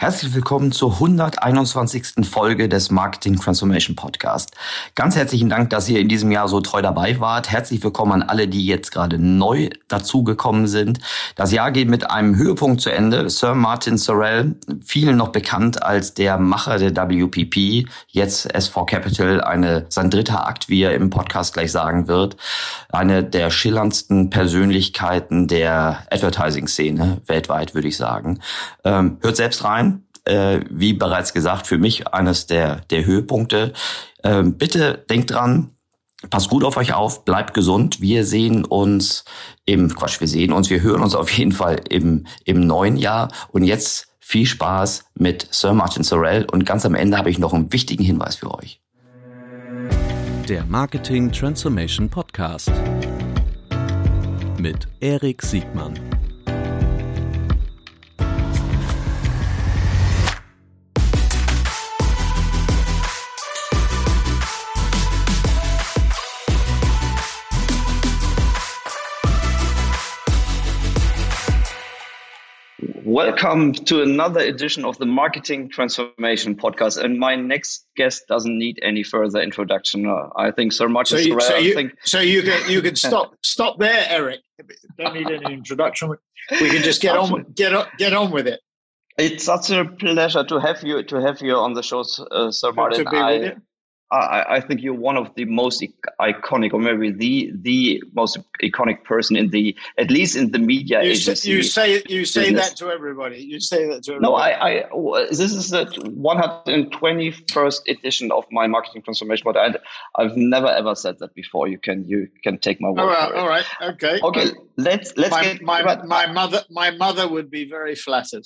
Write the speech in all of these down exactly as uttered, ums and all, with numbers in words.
Herzlich willkommen zur hunderteinundzwanzigsten Folge des Marketing Transformation Podcast. Ganz herzlichen Dank, dass ihr in diesem Jahr so treu dabei wart. Herzlich willkommen an alle, die jetzt gerade neu dazugekommen sind. Das Jahr geht mit einem Höhepunkt zu Ende. Sir Martin Sorrell, vielen noch bekannt als der Macher der W P P, jetzt S vier Capital, eine, sein dritter Akt, wie er im Podcast gleich sagen wird. Eine der schillerndsten Persönlichkeiten der Advertising-Szene weltweit, würde ich sagen. Ähm, hört selbst rein. Äh, wie bereits gesagt, für mich eines der, der Höhepunkte. Ähm, bitte denkt dran, passt gut auf euch auf, bleibt gesund. Wir sehen uns im, Quatsch, wir sehen uns, wir hören uns auf jeden Fall im, im neuen Jahr. Und jetzt viel Spaß mit Sir Martin Sorrell. Und ganz am Ende habe ich noch einen wichtigen Hinweis für euch. Der Marketing Transformation Podcast mit Erik Siegmann. Welcome to another edition of the Marketing Transformation Podcast. And my next guest doesn't need any further introduction. Uh, I think Sir Martin So you, Sorrell, so you, think... so you can you can stop stop there, Eric. Don't need any introduction. We can just get on get on, get on with it. It's such a pleasure to have you to have you on the show, uh, Sir Good Martin. to be I, with you. I, I think you're one of the most iconic, or maybe the the most iconic person in the, at least in the media You agency. say, you say you say business. that to everybody. You say that to everybody. No, I, I, this is the one hundred twenty-first edition of my Marketing Transformation, but I, I've never ever said that before. You can, you can take my word all right, for it. all right, okay. Okay, let's let's My get my, right- my mother my mother would be very flattered.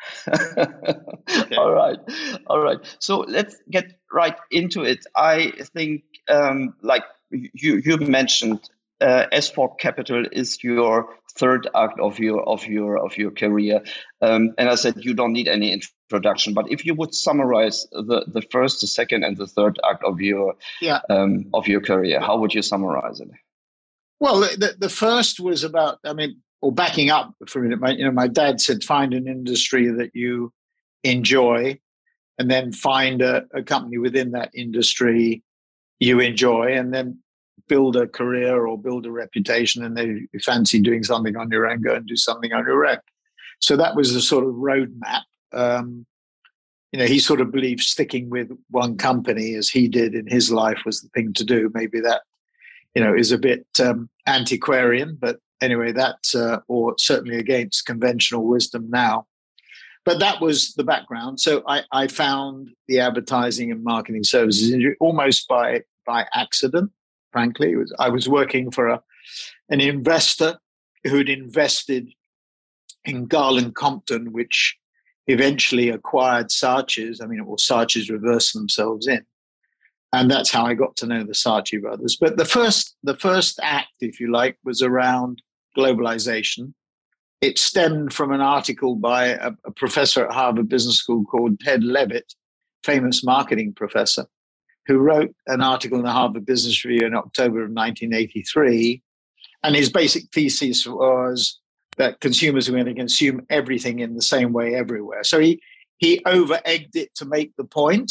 All right, all right. So let's get right into it. I think, um, like you you mentioned, uh, S four Capital is your third act of your of your of your career, um, and I said you don't need any introduction. But if you would summarize the, the first, the second, and the third act of your Yeah. um, of your career, how would you summarize it? Well, the, the first was about, I mean, or backing up for a minute, my, you know, my dad said, find an industry that you enjoy and then find a, a company within that industry you enjoy and then build a career or build a reputation. And then if you fancy doing something on your own, go and do something on your own. So that was the sort of roadmap. Um, you know, he sort of believed sticking with one company as he did in his life was the thing to do. Maybe that, you know, is a bit um, antiquarian, but anyway, that's, uh, or certainly against conventional wisdom now. But that was the background. So I, I found the advertising and marketing services industry almost by, by accident, frankly. It was, I was working for a, an investor who'd invested in Garland Compton, which eventually acquired Saatchi's. I mean, or Saatchi's reversed themselves in. And that's how I got to know the Saatchi brothers. But the first, the first act, if you like, was around globalization. It stemmed from an article by a, a professor at Harvard Business School called Ted Levitt, famous marketing professor, who wrote an article in the Harvard Business Review in October of nineteen eighty-three. And his basic thesis was that consumers were going to consume everything in the same way everywhere. So he, he over-egged it to make the point.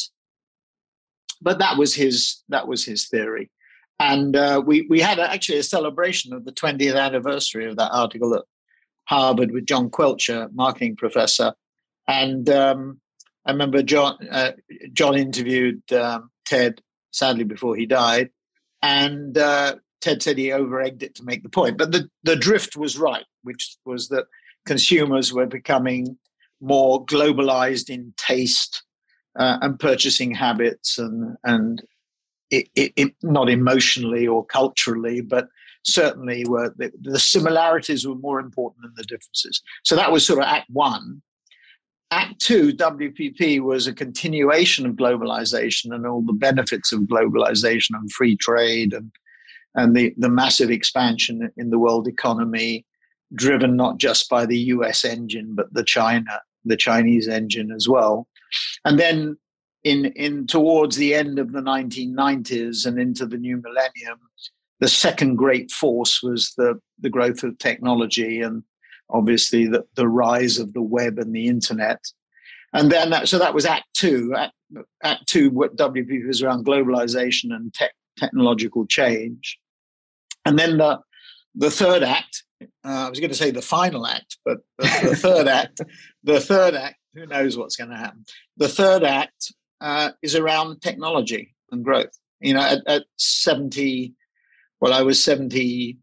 But that was his that was his theory, and uh, we we had actually a celebration of the twentieth anniversary of that article at Harvard with John Quelcher, marketing professor, and um, I remember John uh, John interviewed um, Ted, sadly before he died, and uh, Ted said he over-egged it to make the point, but the the drift was right, which was that consumers were becoming more globalized in taste. Uh, and purchasing habits and and it, it, it, not emotionally or culturally, but certainly were the, the similarities were more important than the differences. So that was sort of Act One. Act Two, W P P, was a continuation of globalization and all the benefits of globalization and free trade and and the, the massive expansion in the world economy, driven not just by the U S engine but the China the Chinese engine as well. And then in, in towards the end of the nineteen nineties and into the new millennium, the second great force was the, the growth of technology and obviously the, the rise of the web and the internet. And then that, so that was Act Two. Act, Act Two, what W P P was around globalization and tech, technological change. And then the the third act, uh, I was going to say the final act, but the, the third act, the third act, who knows what's going to happen? The third act uh, is around technology and growth. You know, at, at seventy, well, I was seventy-three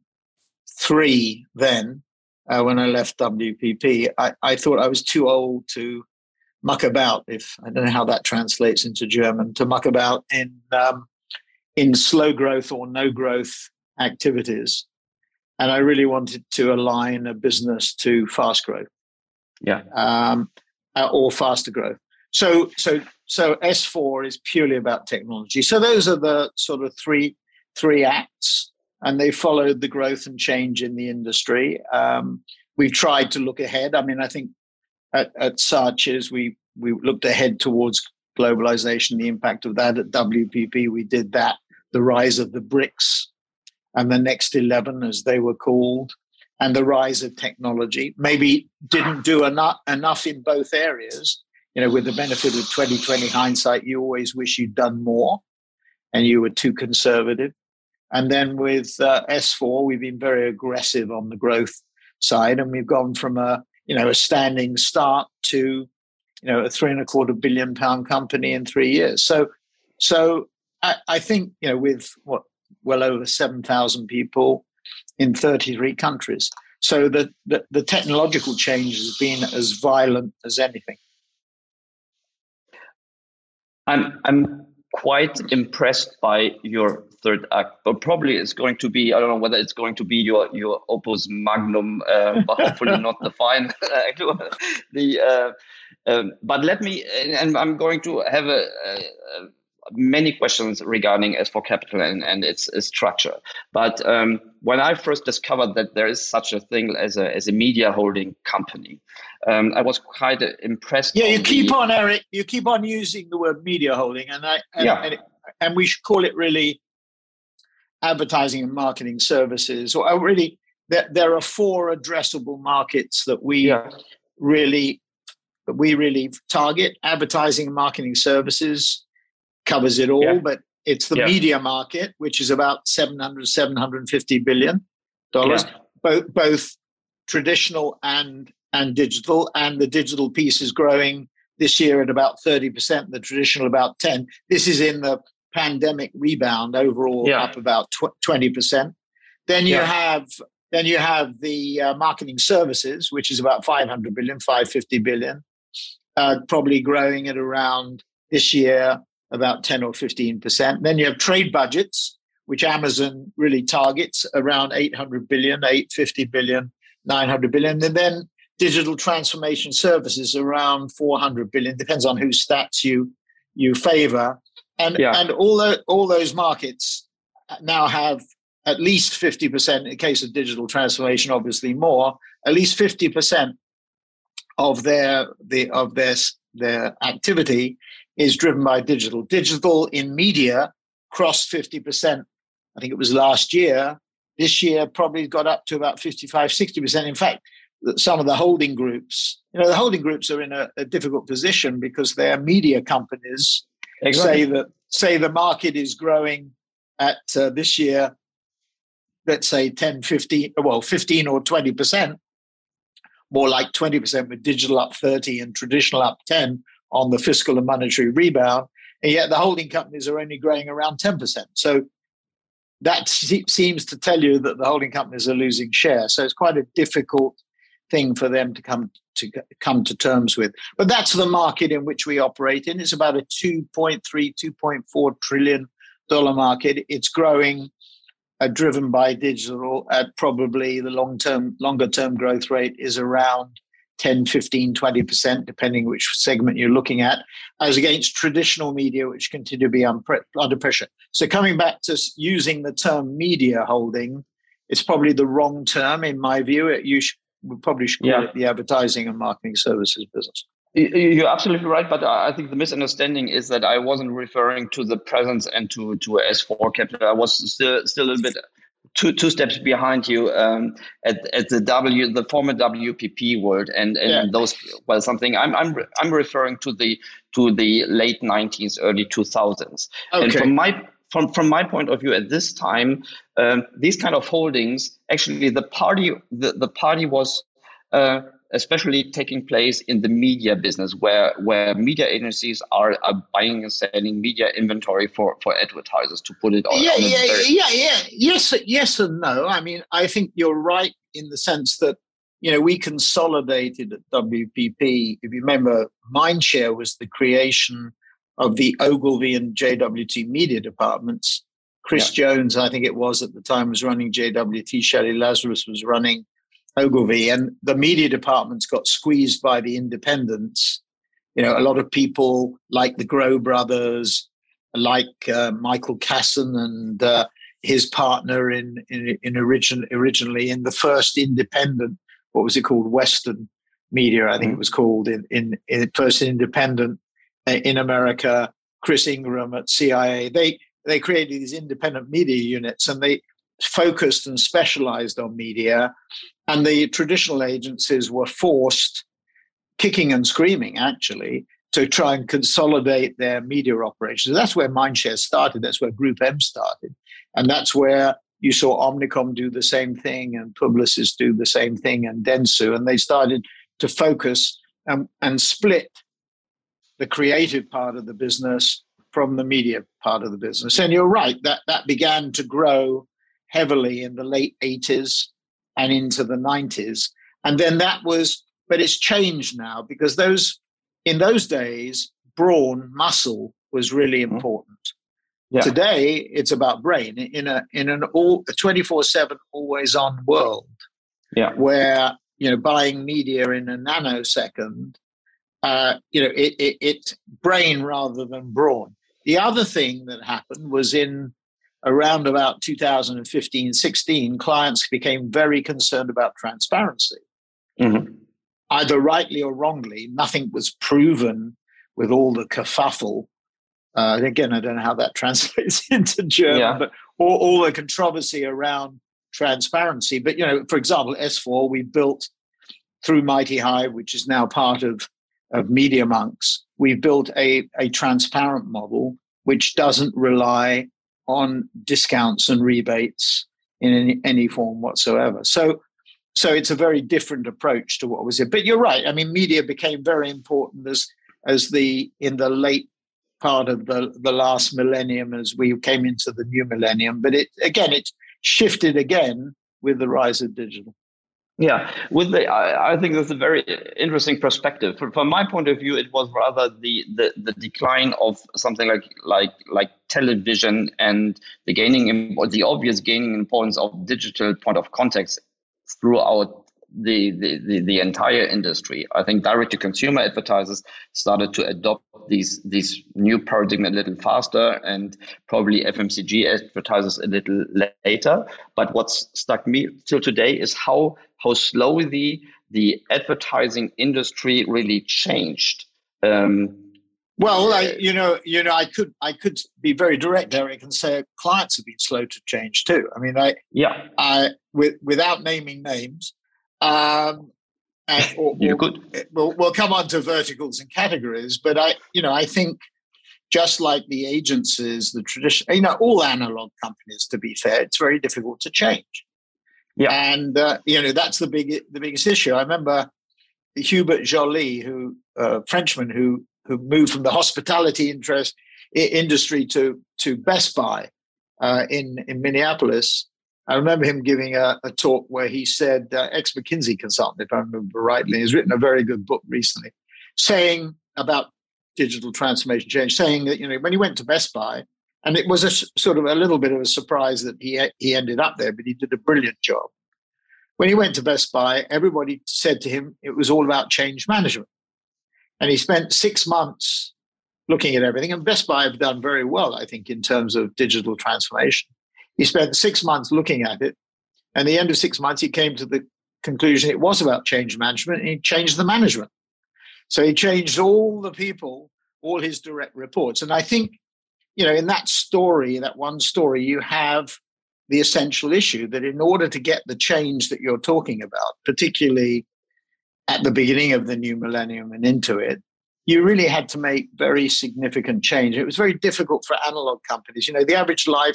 then uh, when I left W P P. I, I thought I was too old to muck about, if I don't know how that translates into German, to muck about in um, in slow growth or no growth activities. And I really wanted to align a business to fast growth, yeah, um, uh, or faster growth. So, so, so S four is purely about technology. So those are the sort of three three acts, and they followed the growth and change in the industry. Um, we've tried to look ahead. I mean, I think at, at Saatchi's we we looked ahead towards globalization, the impact of that. At W P P, we did that. The rise of the BRICS and the Next eleven, as they were called, and the rise of technology. Maybe didn't do enough, enough in both areas. You know, with the benefit of twenty twenty hindsight, you always wish you'd done more and you were too conservative. And then with uh, S four, we've been very aggressive on the growth side, and we've gone from a, you know, a standing start to, you know, a three and a quarter billion pound company in three years. So, so I, I think, you know, with what, well over seven thousand people in thirty-three countries. So the, the, the technological change has been as violent as anything. I'm I'm quite impressed by your third act, but probably it's going to be, I don't know whether it's going to be your your opus magnum, uh, but hopefully not the final act. the uh, um, but let me, and I'm going to have a, a, a many questions regarding S four Capital and, and its, its structure. But um, when I first discovered that there is such a thing as a as a media holding company, um, I was quite impressed. Yeah, you on keep the, on, Eric. You keep on using the word media holding, and I and, yeah. and, it, and we should call it really advertising and marketing services. Or really, there there are four addressable markets that we yeah. really that we really target. Advertising and marketing services covers it all, yeah. but it's the yeah. media market, which is about seven hundred, seven hundred fifty billion dollars, yeah. both both traditional and and digital. And the digital piece is growing this year at about thirty percent, the traditional about ten. This is in the pandemic rebound, overall yeah. up about twenty percent. Then you yeah. have then you have the uh, marketing services, which is about five hundred billion, five hundred fifty billion, uh, probably growing at around this year about ten or fifteen percent. Then you have trade budgets, which Amazon really targets around eight hundred billion, eight hundred fifty billion, nine hundred billion. And then digital transformation services around four hundred billion, depends on whose stats you you favor. And, yeah. and all, the, all those markets now have at least fifty percent, in the case of digital transformation, obviously more, at least fifty percent of their, the, of their, their activity is driven by digital. Digital in media crossed fifty percent. I think it was last year. This year probably got up to about fifty-five, sixty percent. In fact, some of the holding groups, you know, the holding groups are in a, a difficult position because their media companies exactly. say that say the market is growing at uh, this year, let's say ten, fifteen, well, fifteen or twenty percent, more like twenty percent with digital up thirty and traditional up ten on the fiscal and monetary rebound. And yet the holding companies are only growing around ten percent. So that seems to tell you that the holding companies are losing share. So it's quite a difficult thing for them to come to come to terms with. But that's the market in which we operate in. It's about a two point three, two point four trillion dollar market. It's growing, uh, driven by digital at probably the long-term, longer-term growth rate is around ten, fifteen, twenty percent, depending which segment you're looking at, as against traditional media, which continue to be under pressure. So coming back to using the term media holding, it's probably the wrong term in my view. It, you should, we probably should call yeah. it the advertising and marketing services business. You're absolutely right, but I think the misunderstanding is that I wasn't referring to the presence and to, to S four Capital. I was still still a little bit two two steps behind you um, at at the W the former W P P world and and Yeah. those well something I'm I'm I'm referring to the to the late nineties, early two thousands. Okay. And from my from from my point of view at this time, um, these kind of holdings actually the party the, the party was uh, especially taking place in the media business, where where media agencies are, are buying and selling media inventory for, for advertisers, to put it on. Yeah, on yeah, very- yeah, yeah. Yes, yes, and no. I mean, I think you're right in the sense that, you know, we consolidated at W P P. If you remember, Mindshare was the creation of the Ogilvy and J W T media departments. Chris yeah. Jones, I think it was at the time, was running J W T. Shelley Lazarus was running Ogilvy, and the media departments got squeezed by the independents. You know, a lot of people like the Grow brothers, like uh, Michael Casson and uh, his partner in in, in origin, originally in the first independent, what was it called, Western Media, I think mm-hmm. it was called, in, in in first independent in America. Chris Ingram at C I A, they they created these independent media units, and they focused and specialized on media. And the traditional agencies were forced, kicking and screaming, actually, to try and consolidate their media operations. That's where Mindshare started. That's where Group M started. And that's where you saw Omnicom do the same thing and Publicis do the same thing and Dentsu. And they started to focus and, and split the creative part of the business from the media part of the business. And you're right, that, that began to grow heavily in the late eighties and into the nineties. And then that was, but it's changed now, because those, in those days, brawn, muscle was really important. Yeah. Today, it's about brain in a in an all twenty-four seven always on world. Yeah. Where, you know, buying media in a nanosecond, uh, you know, it, it it's brain rather than brawn. The other thing that happened was in around about two thousand fifteen, sixteen, clients became very concerned about transparency. Mm-hmm. Either rightly or wrongly, nothing was proven with all the kerfuffle. Uh, again, I don't know how that translates into German, yeah. but all, all the controversy around transparency. But, you know, for example, S four, we built through Mighty Hive, which is now part of, of Media Monks. We've built a, a transparent model which doesn't rely on discounts and rebates in any, any form whatsoever. So, so it's a very different approach to what was it. But you're right. I mean, media became very important as as the in the late part of the, the last millennium, as we came into the new millennium. But it again, it shifted again with the rise of digital. Yeah, with the, I, I think that's a very interesting perspective. From, from my point of view, it was rather the, the, the decline of something like like like television and the gaining, or the obvious gaining importance of digital point of context throughout the, the, the, the entire industry. I think direct-to-consumer advertisers started to adopt these these new paradigm a little faster, and probably F M C G advertisers a little later. But what's stuck me till today is how how slowly the advertising industry really changed. Um, well, I, you know, you know, I could I could be very direct, Eric, and say clients have been slow to change too. I mean, I yeah, I with, without naming names. Um, and, or, you or, could. We'll, we'll come on to verticals and categories, but I, you know, I think just like the agencies, the tradition, you know, all analog companies, to be fair, it's very difficult to change. Yeah, and uh, you know, that's the big, the biggest issue. I remember Hubert Joly, who uh, Frenchman, who who moved from the hospitality interest industry to to Best Buy uh, in in Minneapolis. I remember him giving a, a talk where he said, uh, ex-McKinsey consultant, if I remember rightly, he's written a very good book recently, saying about digital transformation change, saying that, you know, when he went to Best Buy, and it was a sort of a little bit of a surprise that he he ended up there, but he did a brilliant job. When he went to Best Buy, everybody said to him it was all about change management. And he spent six months looking at everything. And Best Buy have done very well, I think, in terms of digital transformation. He spent six months looking at it. And at the end of six months, he came to the conclusion it was about change management, and he changed the management. So he changed all the people, all his direct reports. And I think, you know, in that story, that one story, you have the essential issue that in order to get the change that you're talking about, particularly at the beginning of the new millennium and into it, you really had to make very significant change. It was very difficult for analog companies. You know, the average life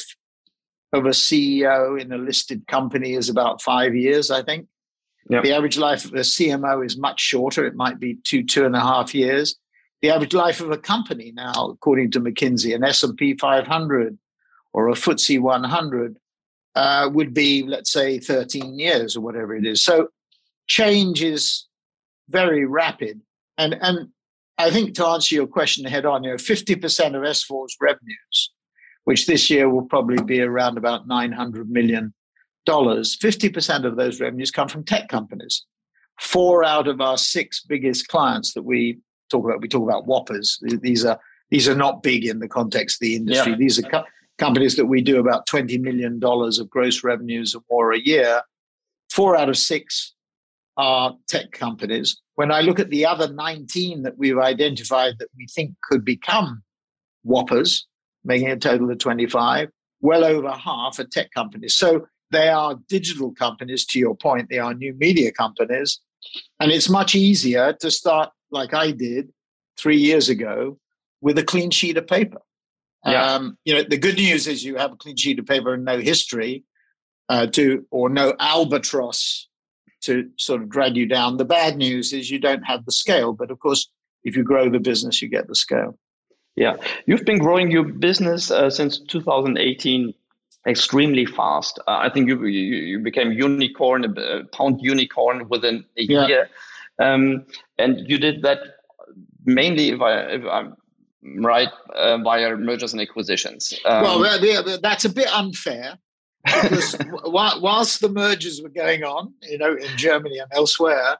of a C E O in a listed company is about five years, I think. Yep. The average life of a C M O is much shorter. It might be two, two and a half years. The average life of a company now, according to McKinsey, an S and P five hundred or a F T S E one hundred, uh, would be, let's say, thirteen years or whatever it is. So change is very rapid. And, and I think to answer your question head on, you know, fifty percent of S four's revenues, which this year will probably be around about nine hundred million dollars, fifty percent of those revenues come from tech companies. Four out of our six biggest clients that we talk about, we talk about whoppers. These are these are not big in the context of the industry. Yeah. These are co- companies that we do about twenty million dollars of gross revenues or more a year. Four out of six are tech companies. When I look at the other nineteen that we've identified that we think could become whoppers, making a total of twenty-five, well over half are tech companies. So they are digital companies, to your point. They are new media companies. And it's much easier to start, like I did three years ago, with a clean sheet of paper. Yeah. Um, you know, the good news is you have a clean sheet of paper and no history uh, to, or no albatross to sort of drag you down. The bad news is you don't have the scale. But of course, if you grow the business, you get the scale. Yeah. You've been growing your business uh, since two thousand eighteen extremely fast. Uh, I think you, you you became unicorn, a pound unicorn within a yeah. year. Um, and you did that mainly, if, I, if I'm right, uh, via mergers and acquisitions. Um, well, yeah, that's a bit unfair. Because whilst the mergers were going on, you know, in Germany and elsewhere,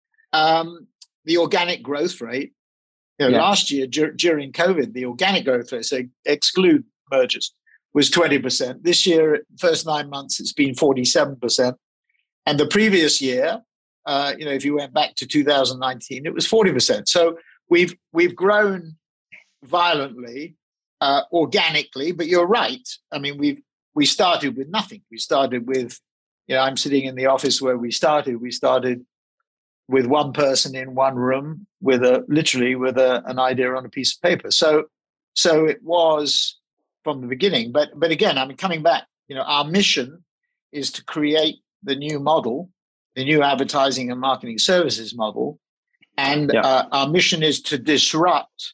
um, the organic growth rate, you know, yeah. last year dur- during COVID, the organic growth rate, so exclude mergers, was twenty percent. This year, first nine months, it's been forty-seven percent. And the previous year, uh, you know, if you went back to two thousand nineteen, it was forty percent. So we've we've grown violently, uh, organically. But you're right. I mean, we've we started with nothing. We started with, you know, I'm sitting in the office where we started. We started with one person in one room, with a literally with a, an idea on a piece of paper. So, so it was from the beginning. But but again, I mean, coming back, you know, our mission is to create the new model, the new advertising and marketing services model, and yeah. uh, our mission is to disrupt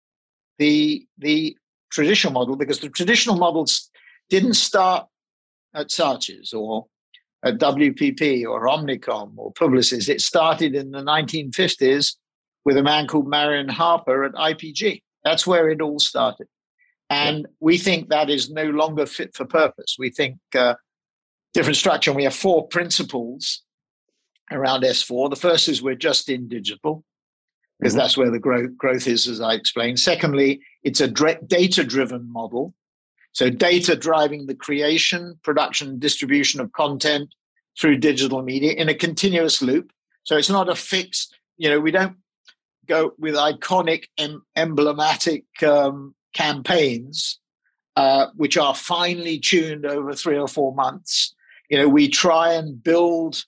the the traditional model, because the traditional models didn't start at Saatchi's or at W P P or Omnicom or Publicis. It started in the nineteen fifties with a man called Marion Harper at I P G. That's where it all started. And yeah. we think that is no longer fit for purpose. We think uh, different structure. And we have four principles around S four. The first is we're just in digital, because mm-hmm. that's where the growth, growth is, as I explained. Secondly, it's a dra- data-driven model. So data driving the creation, production, distribution of content through digital media in a continuous loop. So it's not a fixed, you know, we don't go with iconic, em- emblematic um, campaigns, uh, which are finely tuned over three or four months. You know, we try and build,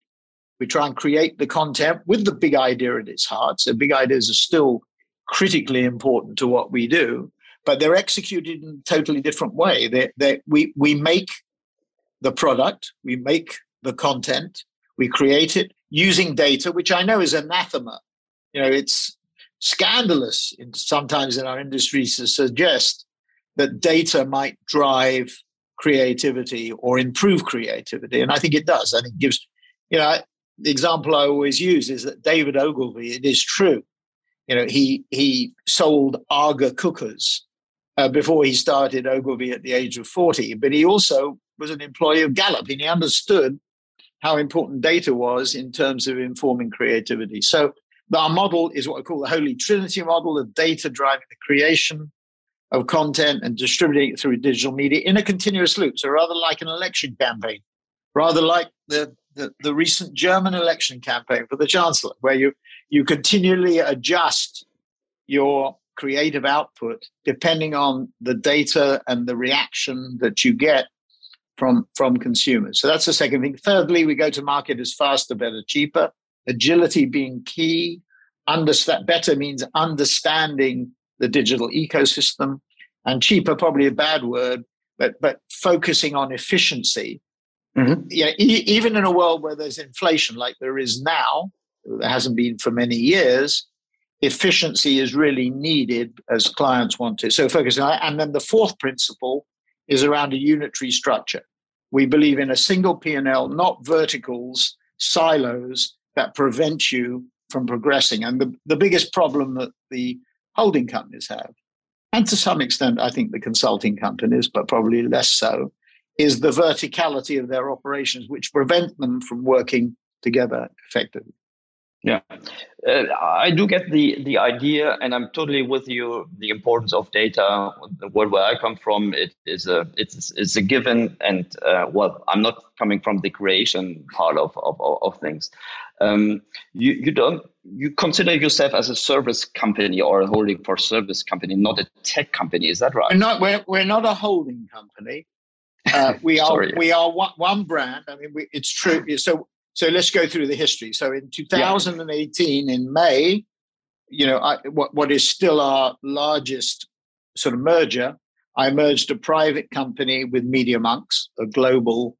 we try and create the content with the big idea at its heart. So big ideas are still critically important to what we do, but they're executed in a totally different way. They, they, we, we make the product, we make the content, we create it using data, which I know is anathema. You know, it's scandalous in, sometimes in our industry to suggest that data might drive creativity or improve creativity. And I think it does. I think it gives, you know, the example I always use is that David Ogilvy, it is true, you know, he he sold Aga cookers uh, before he started Ogilvy at the age of forty, but he also was an employee of Gallup, and he understood how important data was in terms of informing creativity. So our model is what I call the Holy Trinity model of data driving the creation of content and distributing it through digital media in a continuous loop. So rather like an election campaign, rather like the, the, the recent German election campaign for the Chancellor, where you, you continually adjust your creative output depending on the data and the reaction that you get from, from consumers. So that's the second thing. Thirdly, we go to market as faster, better, cheaper. Agility being key. Understand better means understanding the digital ecosystem, and cheaper, probably a bad word, but but focusing on efficiency. Mm-hmm. Yeah, e- even in a world where there's inflation like there is now, there hasn't been for many years, efficiency is really needed as clients want to. So focusing on that. And then the fourth principle is around a unitary structure. We believe in a single P and L, not verticals, silos that prevent you from progressing. And the, the biggest problem that the holding companies have, and to some extent, I think the consulting companies, but probably less so, is the verticality of their operations, which prevent them from working together effectively. Yeah, uh, I do get the, the idea, and I'm totally with you. The importance of data. The world where I come from, it is a it's it's a given, and uh, well, I'm not coming from the creation part of of, of things. Um, you you don't you consider yourself as a service company or a holding for service company, not a tech company. Is that right? We're not. We're, we're not a holding company. Uh, we are we are one, one brand. I mean, we, it's true. So. So let's go through the history. So in two thousand eighteen, yeah. in May, you know, I, what, what is still our largest sort of merger, I merged a private company with MediaMonks, a global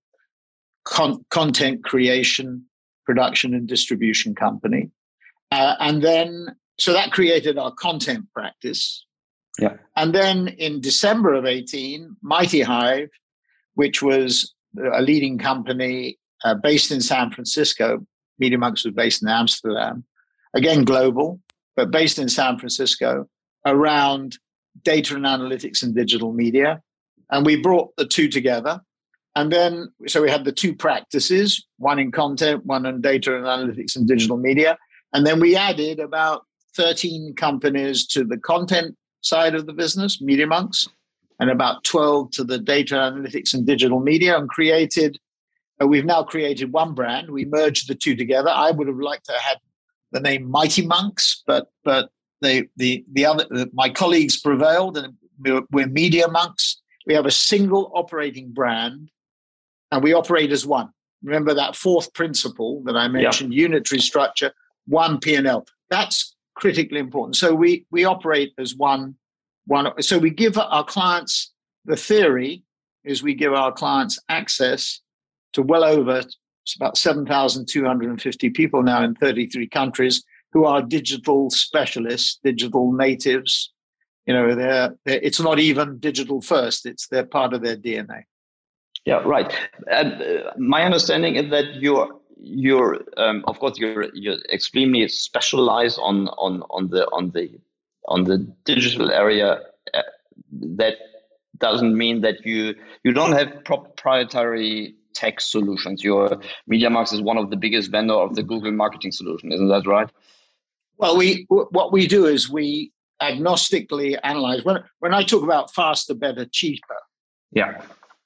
con- content creation, production and distribution company. Uh, and then, so that created our content practice. Yeah. And then in December of eighteen, MightyHive, which was a leading company Uh, based in San Francisco. MediaMonks was based in Amsterdam, again global, but based in San Francisco, around data and analytics and digital media. And we brought the two together. And then, so we had the two practices, one in content, one in data and analytics and digital media. And then we added about thirteen companies to the content side of the business, MediaMonks, and about twelve to the data analytics and digital media, and created We've now created one brand. We merged the two together. I would have liked to have had the name MightyMonks, but but they, the the other my colleagues prevailed, and we're, we're MediaMonks. We have a single operating brand, and we operate as one. Remember that fourth principle that I mentioned: yeah. Unitary structure, one P and L. That's critically important. So we we operate as one one. So we give our clients, the theory is we give our clients access to well over, it's about seven thousand two hundred fifty people now in thirty-three countries who are digital specialists, digital natives. You know, they're, they're, it's not even digital first, it's they're part of their D N A. Yeah, right. And uh, my understanding is that you're, you're um, of course, you're you're extremely specialized on on on the on the on the digital area. Uh, that doesn't mean that you you don't have proprietary tech solutions. Your MediaMonks is one of the biggest vendor of the Google marketing solution, isn't that right? Well, we what we do is we agnostically analyze. When when I talk about faster, better, cheaper, yeah,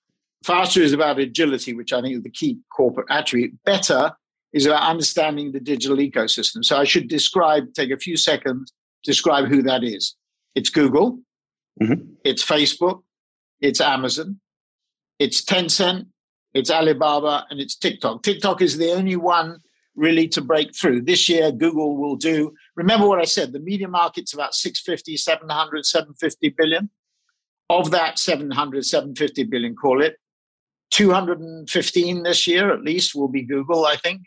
faster is about agility, which I think is the key corporate attribute. Better is about understanding the digital ecosystem. So I should describe, take a few seconds, describe who that is. It's Google, mm-hmm. It's Facebook, it's Amazon, it's Tencent, it's Alibaba, and it's TikTok. TikTok is the only one really to break through. This year, Google will do, remember what I said, the media market's about six fifty, seven hundred, seven fifty billion. Of that seven hundred, seven fifty billion, call it, two hundred fifteen this year at least will be Google, I think.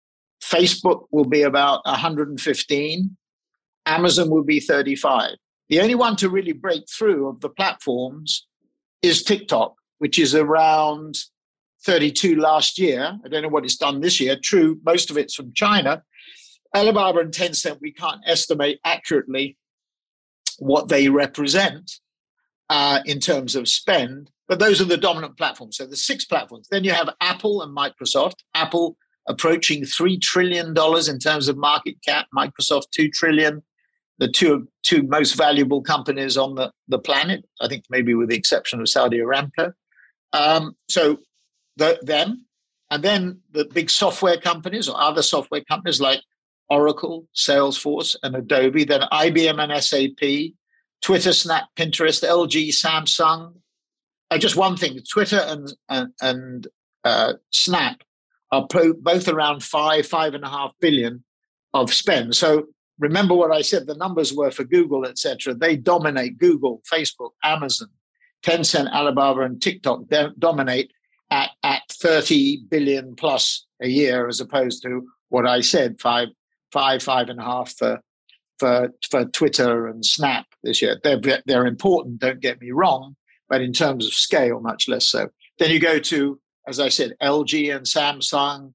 Facebook will be about one hundred fifteen. Amazon will be thirty-five. The only one to really break through of the platforms is TikTok, which is around thirty-two last year. I don't know what it's done this year. True, most of it's from China. Alibaba and Tencent, we can't estimate accurately what they represent uh, in terms of spend, but those are the dominant platforms. So the six platforms. Then you have Apple and Microsoft. Apple approaching three trillion dollars in terms of market cap. Microsoft, two trillion dollars. The two, two most valuable companies on the, the planet, I think maybe with the exception of Saudi Aramco. Um, so the, them, and then the big software companies or other software companies like Oracle, Salesforce, and Adobe, then I B M and S A P, Twitter, Snap, Pinterest, L G, Samsung, uh, just one thing: Twitter and and, and uh, Snap are pro- both around five, five and a half billion of spend. So remember what I said, the numbers were for Google, et cetera. They dominate. Google, Facebook, Amazon, Tencent, Alibaba, and TikTok de- dominate at, at thirty billion plus a year, as opposed to what I said, five, five, five and a half for, for, for Twitter and Snap this year. They're, they're important, don't get me wrong, but in terms of scale, much less so. Then you go to, as I said, L G and Samsung,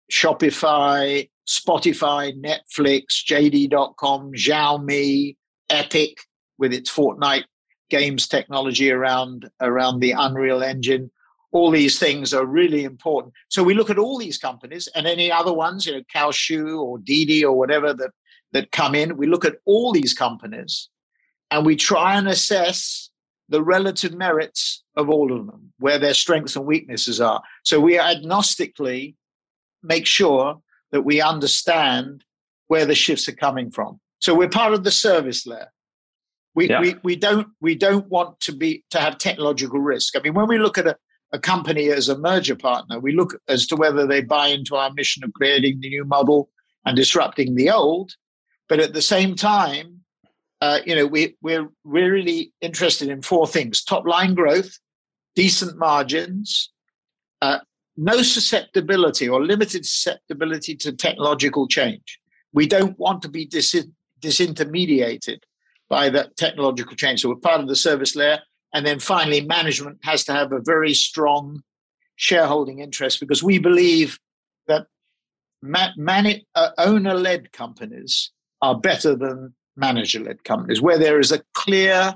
Shopify, Spotify, Netflix, J D dot com, Xiaomi, Epic with its Fortnite games technology around, around the Unreal Engine. All these things are really important. So we look at all these companies and any other ones, you know, Kalshu or Didi or whatever that, that come in. We look at all these companies and we try and assess the relative merits of all of them, where their strengths and weaknesses are. So we agnostically make sure that we understand where the shifts are coming from. So we're part of the service layer. We, yeah. we, we, don't, we don't want to be to have technological risk. I mean, when we look at a, a company as a merger partner, we look as to whether they buy into our mission of creating the new model and disrupting the old. But at the same time, uh, you know, we, we're really interested in four things: top line growth, decent margins, uh, no susceptibility or limited susceptibility to technological change. We don't want to be dis- disintermediated by that technological change. So we're part of the service layer. And then finally, management has to have a very strong shareholding interest, because we believe that man- man- uh, owner-led companies are better than manager-led companies, where there is a clear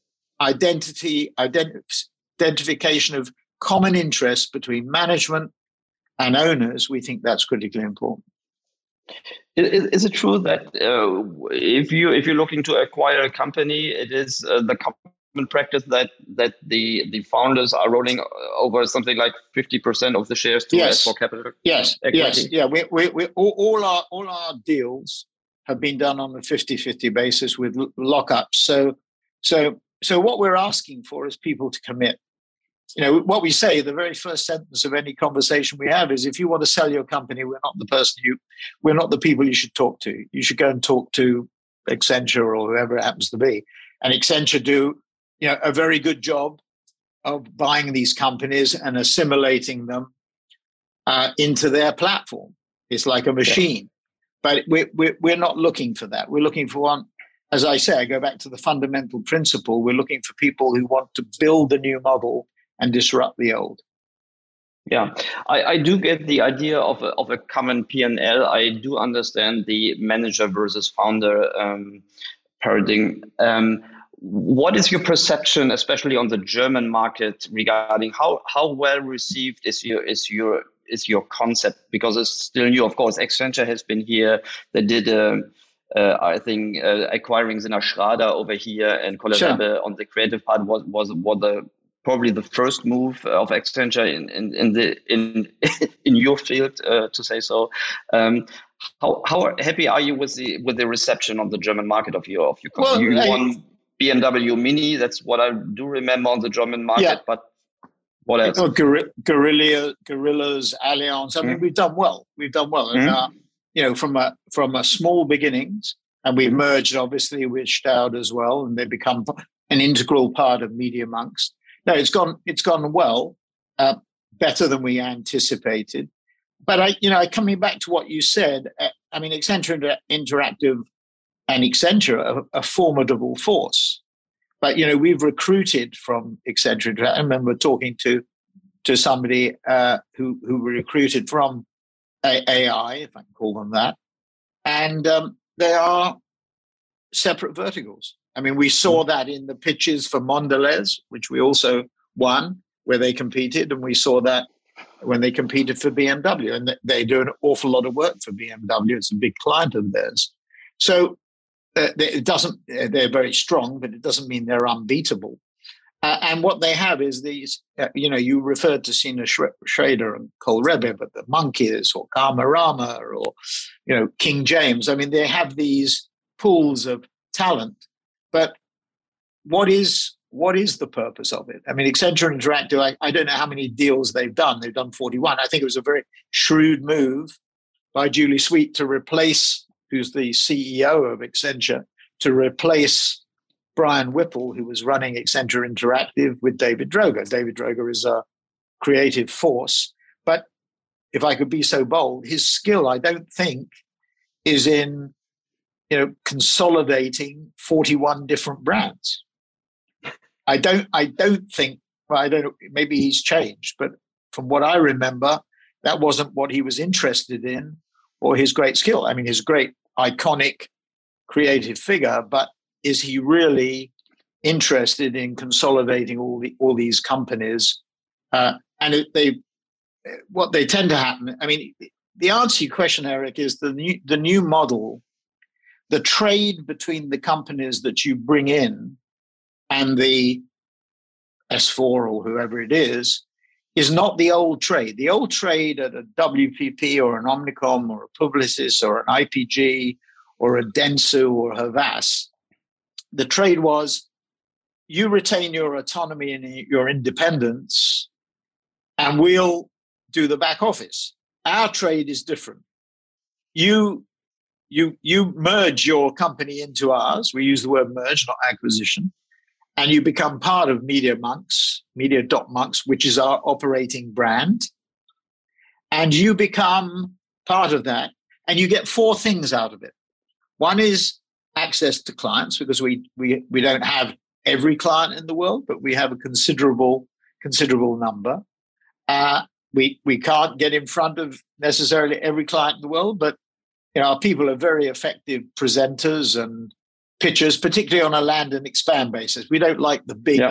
identity, ident- identification of common interests between management and owners. We think that's critically important. Is, is it true that uh, if you if you're looking to acquire a company, it is uh, the common practice that that the the founders are rolling over something like fifty percent of the shares to yes. S four Capital? Yes, equity? yes, yeah. We we, we all, all our all our deals have been done on a fifty-fifty basis with lockups. So so so what we're asking for is people to commit. You know, what we say, the very first sentence of any conversation we have is, if you want to sell your company, we're not the person you, we're not the people you should talk to. You should go and talk to Accenture or whoever it happens to be. And Accenture do, you know, a very good job of buying these companies and assimilating them uh, into their platform. It's like a machine. Yeah. But we're, we're, we're not looking for that. We're looking for one, as I say, I go back to the fundamental principle. We're looking for people who want to build a new model and disrupt the old. Yeah, I, I do get the idea of a, of a common P and L. I do understand the manager versus founder um, paradigm. Um, what is your perception, especially on the German market, regarding how, how well received is your is your is your concept? Because it's still new. Of course, Accenture has been here. They did, uh, uh, I think, uh, acquiring Sina Schrader over here, and Kolle sure. Rebbe on the creative part was was was the probably the first move of Accenture in, in, in the in in your field, uh, to say so. Um, how how happy are you with the with the reception on the German market of your of your company? Well, you I, won B M W Mini. That's what I do remember on the German market. Yeah. But what else? Oh, Guerrilla, Gorillas, Allianz. I mean, mm. we've done well. We've done well, and mm. uh, you know, from a from a small beginnings, and we mm. merged obviously with Staud as well, and they become an integral part of Media Monks. No, it's gone. It's gone well, uh, better than we anticipated. But I, you know, coming back to what you said, uh, I mean, Accenture Inter- Interactive and Accenture are a formidable force. But you know, we've recruited from Accenture. I remember talking to to somebody uh, who who were recruited from A I, if I can call them that, and um, they are separate verticals. I mean, we saw that in the pitches for Mondelez, which we also won, where they competed, and we saw that when they competed for B M W, and they do an awful lot of work for B M W. It's a big client of theirs. So uh, it doesn't, they're very strong, but it doesn't mean they're unbeatable. Uh, and what they have is these, uh, you know, you referred to Sina Schrader and Kolle Rebbe, but the Monkeys or Karmarama or, you know, King James. I mean, they have these pools of talent. But what is what is the purpose of it? I mean, Accenture Interactive, I, I don't know how many deals they've done. They've done forty-one. I think it was a very shrewd move by Julie Sweet to replace, who's the C E O of Accenture, to replace Brian Whipple, who was running Accenture Interactive, with David Droga. David Droga is a creative force. But if I could be so bold, his skill, I don't think, is in, you know, consolidating forty-one different brands. I don't, I don't think, well, I don't know, maybe he's changed, but from what I remember, that wasn't what he was interested in or his great skill. I mean, he's a great, iconic, creative figure, but is he really interested in consolidating all the all these companies? Uh, and it, they, what they tend to happen. I mean, the answer to your question, Eric, is the new the new model, the trade between the companies that you bring in and the S four or whoever it is, is not the old trade. The old trade at a W P P or an Omnicom or a Publicis or an I P G or a Dentsu or Havas, the trade was you retain your autonomy and your independence, and we'll do the back office. Our trade is different. You, you, you merge your company into ours. We use the word merge, not acquisition. And you become part of Media Monks, Media dot Monks, which is our operating brand. And you become part of that. And you get four things out of it. One is access to clients, because we we we don't have every client in the world, but we have a considerable, considerable number. Uh, we we can't get in front of necessarily every client in the world, but you know, our people are very effective presenters and pitchers, particularly on a land and expand basis. We don't like the big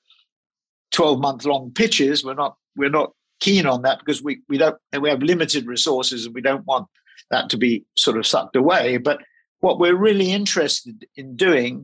twelve-month-long pitches. We're not we're not keen on that because we we don't we have limited resources and we don't want that to be sort of sucked away. But what we're really interested in doing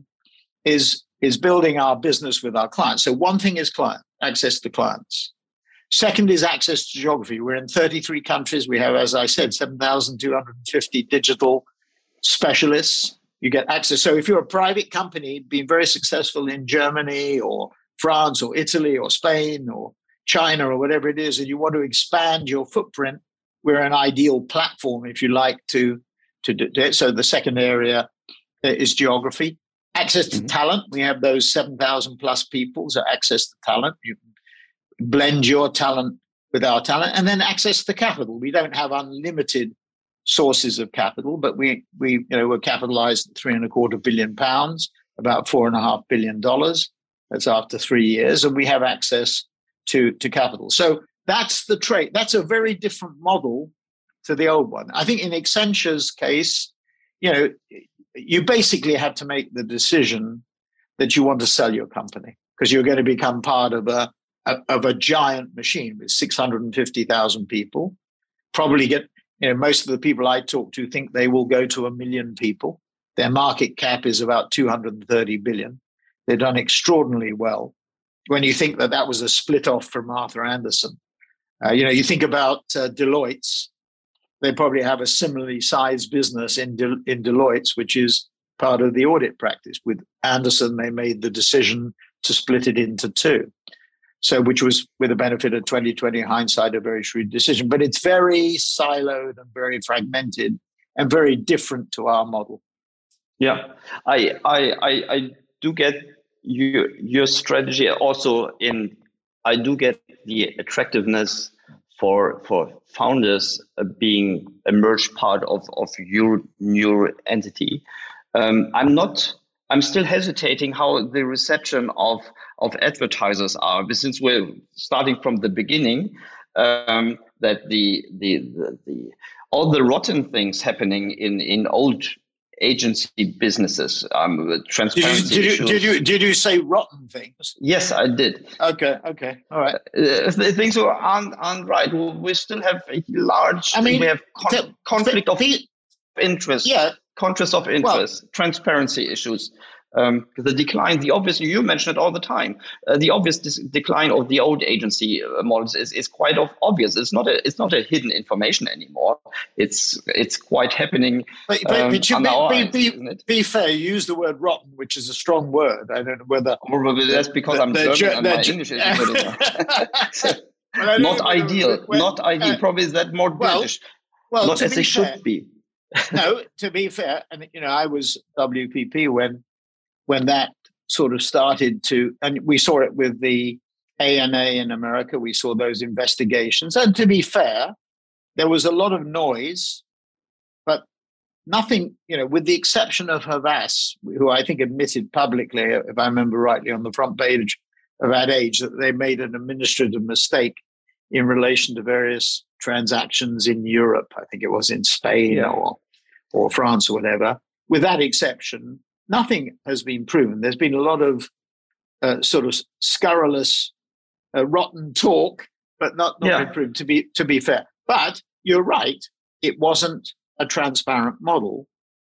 is is building our business with our clients. So one thing is client access to clients. Second is access to geography. We're in thirty-three countries. We have, as I said, seven thousand two hundred fifty digital specialists. You get access. So if you're a private company being very successful in Germany or France or Italy or Spain or China or whatever it is, and you want to expand your footprint, we're an ideal platform, if you like, to, to do it. So the second area is geography. Access to mm-hmm. talent. We have those seven thousand plus people, so access to talent. You can blend your talent with our talent. And then access to capital. We don't have unlimited sources of capital, but we we you know we're capitalized at three and a quarter billion pounds, about four and a half billion dollars. That's after three years, and we have access to to capital. So that's the trade. That's a very different model to the old one. I think in Accenture's case, you know, you basically have to make the decision that you want to sell your company because you're going to become part of a, a of a giant machine with six hundred fifty thousand people. Probably get. You know, most of the people I talk to think they will go to a million people. Their market cap is about two hundred thirty billion. They've done extraordinarily well. When you think that that was a split off from Arthur Andersen, uh, you know, you think about uh, Deloitte's. They probably have a similarly sized business in De- in Deloitte's, which is part of the audit practice. With Andersen, they made the decision to split it into two. So, which was, with the benefit of twenty twenty hindsight, a very shrewd decision. But it's very siloed and very fragmented and very different to our model. Yeah, I I I, I do get your your strategy. Also, in I do get the attractiveness for for founders uh, being a merged part of of your new entity. Um, I'm not. I'm still hesitating how the reception of, of advertisers are, but since we're starting from the beginning, um, that the, the the the all the rotten things happening in, in old agency businesses, um, transparency did you, did issues. You, did you did you say rotten things? Yes, I did. Okay, okay, all right. Uh, the things aren't aren't right. We still have a large. I mean, we have con- the, conflict the, of the, interest. Yeah. Conflict of interest, well, transparency issues. Because um, the decline, the obvious, you mention it all the time, uh, the obvious dis- decline of the old agency uh, models is, is quite of obvious. It's not a it's not a hidden information anymore. It's it's quite happening. But, but, um, but you on be, our be, eyes, be, isn't it? be fair, you use the word rotten, which is a strong word. I don't know whether... Probably that's because the, I'm the, German the, and my the, English isn't good enough. So, well, not ideal, when, not ideal. uh, Probably is that more well, British. Well, not to as be they fair, should be. no, to be fair, and you know, I was W P P when when that sort of started to, and we saw it with the A N A in America. We saw those investigations, and to be fair, there was a lot of noise, but nothing, you know, with the exception of Havas, who I think admitted publicly, if I remember rightly, on the front page of Ad Age, that they made an administrative mistake in relation to various transactions in Europe. I think it was in Spain yeah. or or France or whatever. With that exception, nothing has been proven. There's been a lot of uh, sort of scurrilous, uh, rotten talk, but not, not yeah. been proven, to be, to be fair. But you're right, it wasn't a transparent model.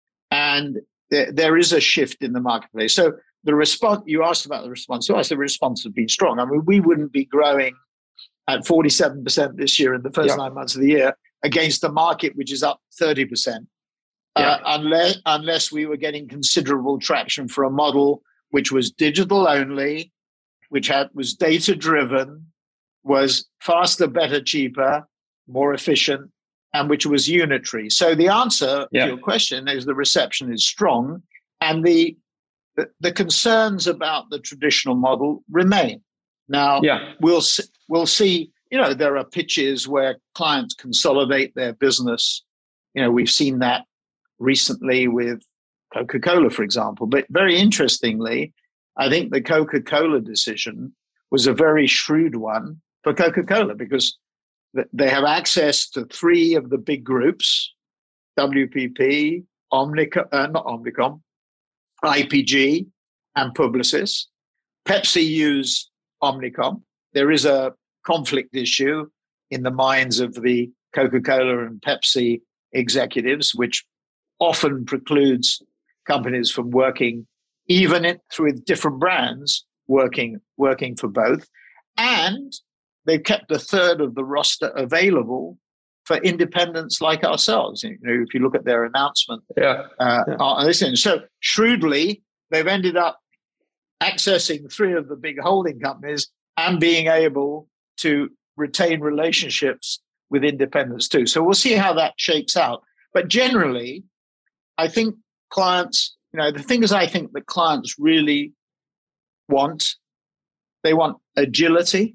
And there, there is a shift in the marketplace. So the response, you asked about the response. So I said the response has been strong. I mean, we wouldn't be growing at forty-seven percent this year in the first yeah. nine months of the year against the market, which is up thirty percent. Yeah. Uh, unless, unless we were getting considerable traction for a model which was digital only, which had was data driven, was faster, better, cheaper, more efficient, and which was unitary. So the answer yeah. to your question is the reception is strong, and the, the the concerns about the traditional model remain. Now yeah. we'll we'll see. You know, there are pitches where clients consolidate their business. You know, we've seen that recently with Coca-Cola, for example. But very interestingly, I think the Coca-Cola decision was a very shrewd one for Coca-Cola because they have access to three of the big groups, W P P, Omnicom, uh, not Omnicom, I P G, and Publicis. Pepsi use Omnicom. There is a conflict issue in the minds of the Coca-Cola and Pepsi executives, which often precludes companies from working, even it, through different brands, working working for both. And they've kept a third of the roster available for independents like ourselves. You know, if you look at their announcement, yeah. Uh, yeah. on this end. So shrewdly, they've ended up accessing three of the big holding companies and being able to retain relationships with independents too. So we'll see how that shakes out. But generally, I think clients, you know, the things I think that clients really want, they want agility.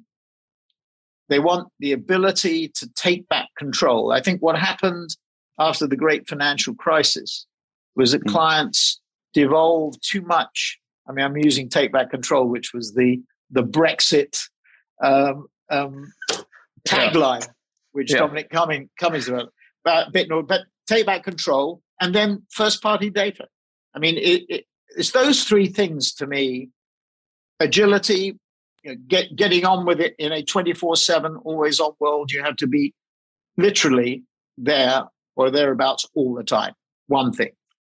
They want the ability to take back control. I think what happened after the great financial crisis was that mm-hmm. clients devolved too much. I mean, I'm using take back control, which was the, the Brexit um, um, tagline, yeah. which yeah. Dominic Cummings, Cummings developed. But, but take back control and then first-party data. I mean, it, it, it's those three things to me: agility, you know, get, getting on with it in a twenty-four seven, always-on world. You have to be literally there or thereabouts all the time. One thing.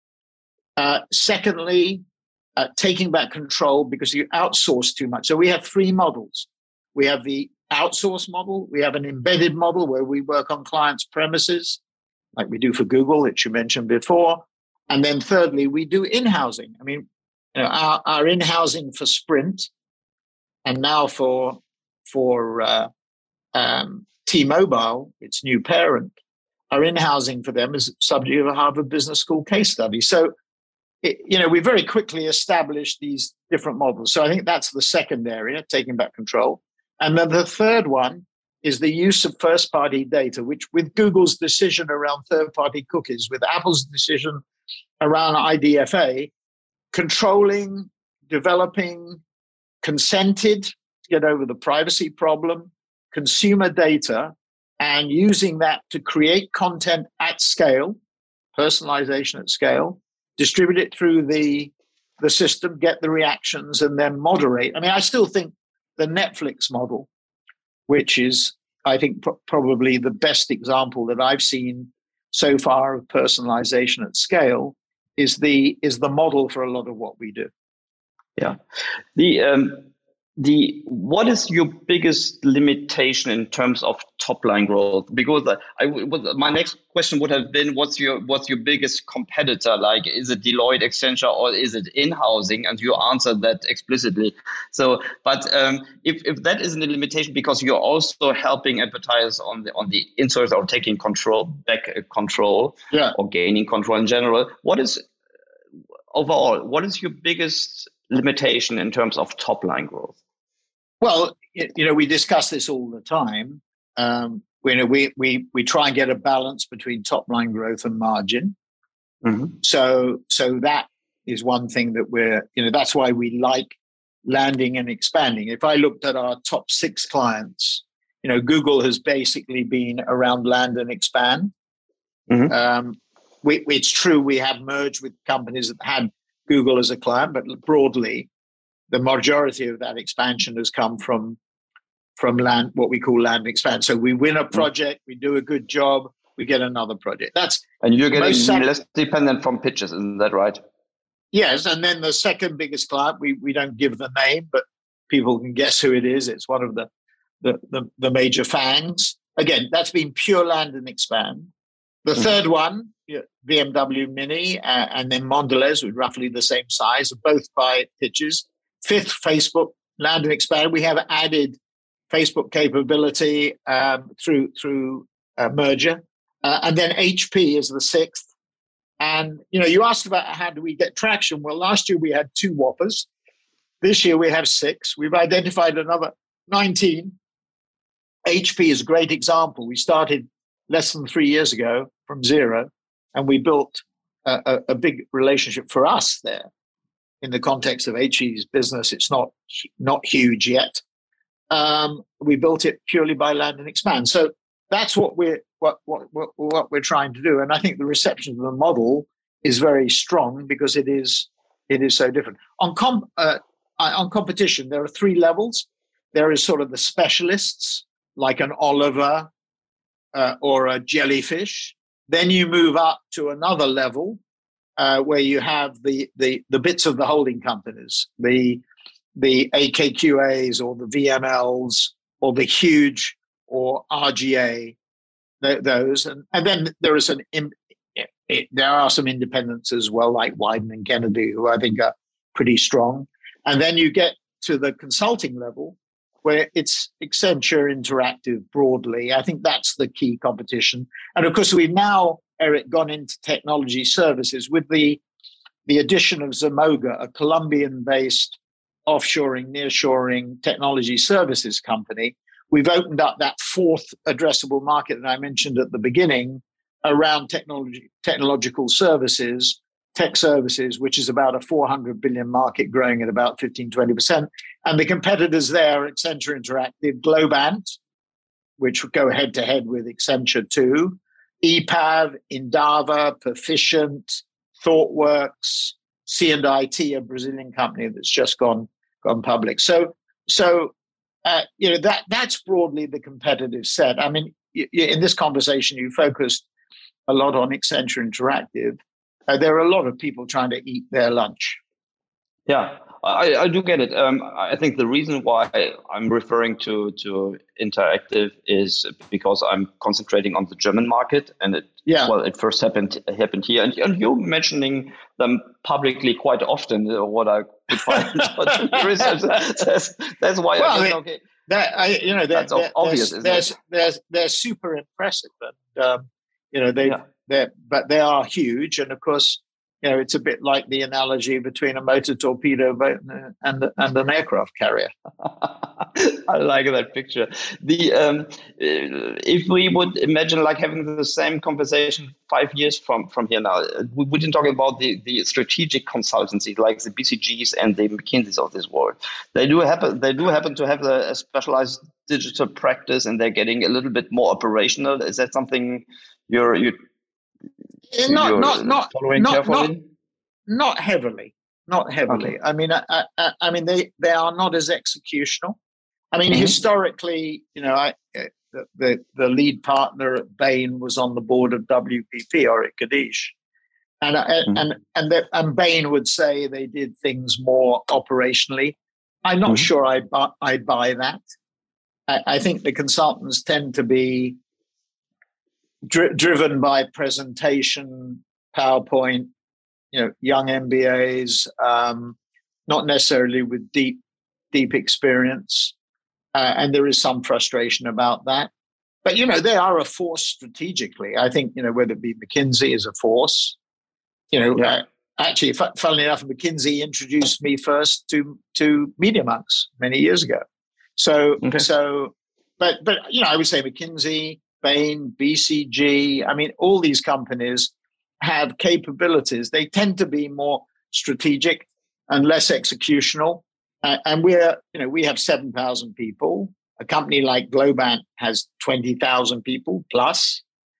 Uh, secondly, uh, taking back control because you outsource too much. So we have three models. We have the outsource model. We have an embedded model where we work on clients' premises, like we do for Google, which you mentioned before. And then thirdly, we do in-housing. I mean, you know, our, our in-housing for Sprint and now for, for uh, um, T-Mobile, its new parent, our in-housing for them is subject of a Harvard Business School case study. So, it, you know, we very quickly established these different models. So I think that's the second area, taking back control. And then the third one is the use of first-party data, which with Google's decision around third-party cookies, with Apple's decision around I D F A, controlling, developing, consented to get over the privacy problem, consumer data, and using that to create content at scale, personalization at scale, distribute it through the, the system, get the reactions, and then moderate. I mean, I still think the Netflix model, which is, I think, pro- probably the best example that I've seen so far of personalization at scale, is the is the model for a lot of what we do. Yeah. The um, the what is your biggest limitation in terms of top line growth? Because I, I my next question would have been, what's your what's your biggest competitor? Like, is it Deloitte, Accenture, or is it in-housing? And you answered that explicitly. So, but um, if if that isn't a limitation, because you're also helping advertisers on the on the insert or taking control back uh, control, yeah. or gaining control in general, what is overall what is your biggest limitation in terms of top line growth? Well, you know, we discuss this all the time. Um, you know, we we we try and get a balance between top line growth and margin. Mm-hmm. So so that is one thing that we're, you know, that's why we like landing and expanding. If I looked at our top six clients, you know, Google has basically been around land and expand. Mm-hmm. Um, we, it's true we have merged with companies that had Google as a client, but broadly, the majority of that expansion has come from from land, what we call land and expand. So we win a project, we do a good job, we get another project. That's and you're getting sec- less dependent from pitches, isn't that right? Yes, and then the second biggest client, we we don't give the name, but people can guess who it is. It's one of the the the, the major fangs. Again, that's been pure land and expand. The mm-hmm. third one, B M W Mini, uh, and then Mondelez, with roughly the same size, both by pitches. Fifth, Facebook, land and expand. We have added Facebook capability um, through through uh, merger, uh, and then H P is the sixth. And you know, you asked about how do we get traction. Well, last year we had two Whoppers. This year we have six. We've identified another nineteen. H P is a great example. We started less than three years ago from zero, and we built a, a, a big relationship for us there. In the context of H P's business, it's not not huge yet. Um, we built it purely by land and expand. So that's what we're what, what what what we're trying to do. And I think the reception of the model is very strong because it is it is so different. On com uh, on competition, there are three levels. There is sort of the specialists like an Oliver uh, or a Jellyfish. Then you move up to another level. Uh, where you have the, the the bits of the holding companies, the the A K Q As or the V M Ls or the Huge or R G A, th- those, and, and then there is an it, it, there are some independents as well, like Wyden and Kennedy, who I think are pretty strong. And then you get to the consulting level, where it's Accenture Interactive broadly. I think that's the key competition, and of course we've now, Eric, gone into technology services with the the addition of Zemoga, a Colombian-based offshoring, nearshoring technology services company. We've opened up that fourth addressable market that I mentioned at the beginning around technology, technological services, tech services, which is about a four hundred billion market growing at about fifteen, twenty percent. And the competitors there, Accenture Interactive, Globant, which would go head-to-head with Accenture too, E P A V, Endava, Perficient, ThoughtWorks, C and I T, a Brazilian company that's just gone gone public. So, so uh, you know that that's broadly the competitive set. I mean, y- y- in this conversation, you focused a lot on Accenture Interactive. Uh, there are a lot of people trying to eat their lunch. Yeah, I, I do get it. Um, I think the reason why I'm referring to, to Interactive is because I'm concentrating on the German market, and it yeah. well, it first happened happened here, and, and you're mentioning them publicly quite often. What I could find out in research. That's, that's why well, I think, okay, that I you know that's they're, obvious. They're, isn't they're, it? they're, they're super impressive, and um, you know they yeah. they but they are huge, and of course. You know, it's a bit like the analogy between a motor torpedo boat and and an aircraft carrier. I like that picture. The um, if we would imagine like having the same conversation five years from, from here now, we wouldn't talk about the, the strategic consultancies like the B C Gs and the McKinseys of this world. They do happen. They do happen to have a, a specialized digital practice, and they're getting a little bit more operational. Is that something you're you? Not, not, not, not, not, not heavily, not heavily. Okay. I mean, I, I, I mean, they, they are not as executional. I mean, mm-hmm. historically, you know, I, the, the the lead partner at Bain was on the board of W P P, Oric Kadeish, And mm-hmm. and and the, and Bain would say they did things more operationally. I'm not mm-hmm. sure I buy, I buy that. I, I think the consultants tend to be dri- driven by presentation, PowerPoint, you know, young M B As, um, not necessarily with deep deep experience, uh, and there is some frustration about that. But you know, they are a force strategically. I think you know whether it be McKinsey is a force. You know, yeah. uh, actually, f- funnily enough, McKinsey introduced me first to to MediaMonks many years ago. So, okay. so, but but you know, I would say McKinsey, Bain, B C G. I mean, all these companies have capabilities. They tend to be more strategic and less executional. Uh, and we're, you know, we have seven thousand people. A company like Globant has twenty thousand people plus.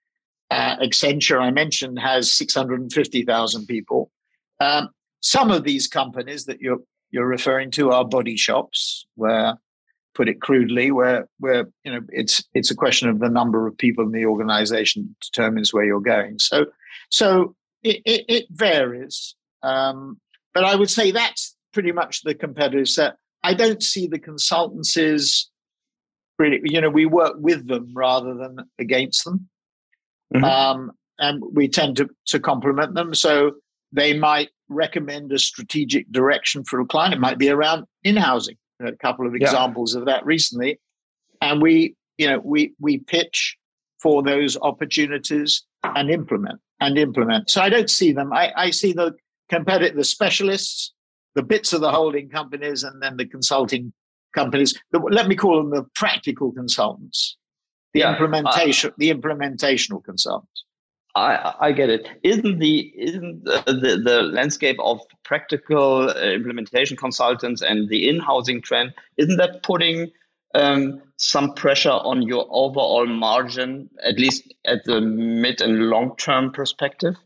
Uh, Accenture, I mentioned, has six hundred fifty thousand people. Um, some of these companies that you're you're referring to are body shops, where, put it crudely, where where you know it's it's a question of the number of people in the organization determines where you're going. So so it it, it varies, um, but I would say that's pretty much the competitive set. I don't see the consultancies really. You know, we work with them rather than against them. Mm-hmm. Um, and we tend to, to complement them. So they might recommend a strategic direction for a client. It might be around in-housing. We had a couple of examples yeah. of that recently. And we, you know, we we pitch for those opportunities and implement and implement. So I don't see them. I, I see the competitive, the specialists, the bits of the holding companies, and then the consulting companies. The, let me call them the practical consultants. The yeah, implementation, uh, the implementational consultants. I, I get it. Isn't the isn't the, the, the landscape of practical uh, implementation consultants and the in-housing trend, isn't that putting um, some pressure on your overall margin, at least at the mid and long-term perspective?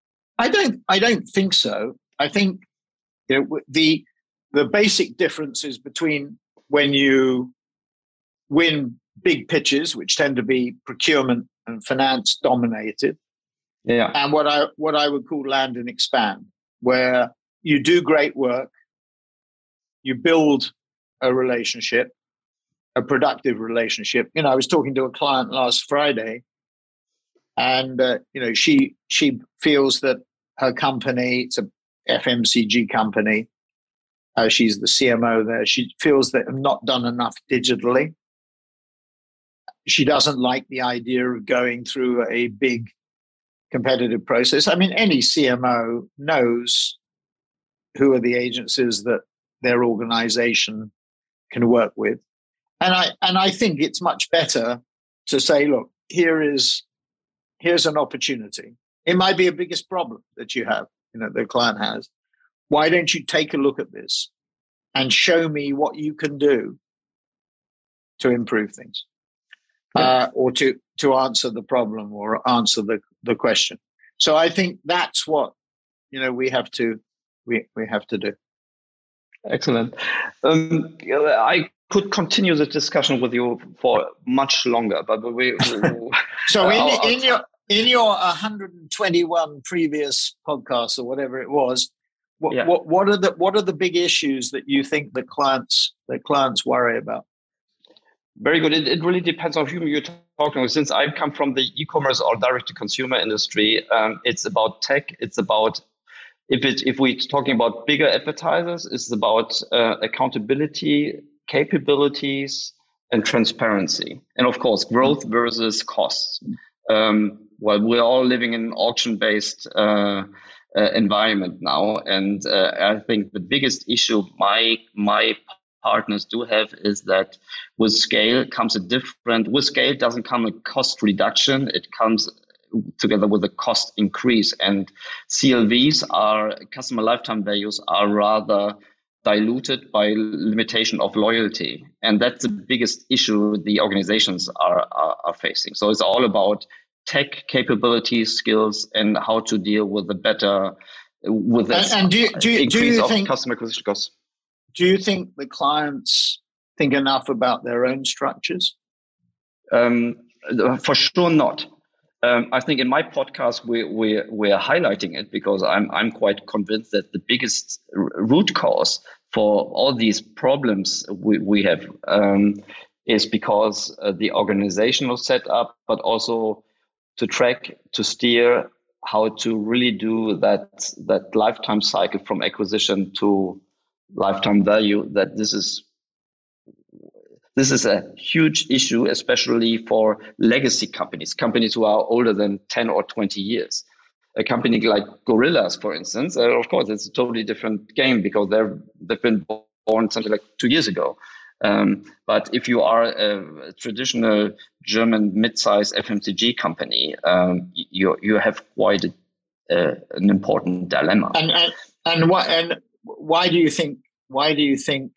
I don't. I don't think so. I think you know, the the basic differences between when you win big pitches, which tend to be procurement and finance dominated, yeah, and what I what I would call land and expand, where you do great work, you build a relationship, a productive relationship. You know, I was talking to a client last Friday, and uh, you know, she she feels that her company, it's a F M C G company, uh, she's the C M O there. She feels that I'm not done enough digitally. She doesn't like the idea of going through a big competitive process. I mean, any C M O knows who are the agencies that their organization can work with. And I and I think it's much better to say, look, here is here's an opportunity. It might be a biggest problem that you have, you know, the client has. Why don't you take a look at this and show me what you can do to improve things? Uh, or to, to answer the problem or answer the, the question. So I think that's what you know we have to we, we have to do. Excellent. Um, I could continue the discussion with you for much longer, but we. we so in, uh, in your in your one hundred twenty-one previous podcasts or whatever it was, what, yeah. what what are the what are the big issues that you think the clients the clients worry about? Very good. It, it really depends on whom you're talking with. Since I come from the e-commerce or direct-to-consumer industry, um, it's about tech. It's about, if it if we're talking about bigger advertisers, it's about uh, accountability, capabilities, and transparency. And of course, growth versus costs. Um, well, we're all living in an auction-based uh, uh, environment now. And uh, I think the biggest issue my my partners do have is that with scale comes a different, with scale doesn't come a cost reduction, it comes together with a cost increase. And C L Vs are, customer lifetime values are rather diluted by limitation of loyalty. And that's the biggest issue the organizations are, are, are facing. So it's all about tech capabilities, skills, and how to deal with the better, with this and, and do you, do you, increase do you of think- customer acquisition costs. Do you think the clients think enough about their own structures? Um, for sure not. Um, I think in my podcast we we we're highlighting it because I'm I'm quite convinced that the biggest r- root cause for all these problems we we have um, is because uh, the organizational setup, but also to track, to steer, how to really do that that lifetime cycle from acquisition to lifetime value. That this is. This is a huge issue, especially for legacy companies, companies who are older than ten or twenty years. A company like Gorillas, for instance, uh, of course, it's a totally different game because they're, they've been born something like two years ago. Um, but if you are a, a traditional German mid-sized F M C G company, um, you you have quite a, uh, an important dilemma. And and and why and why do you think why do you think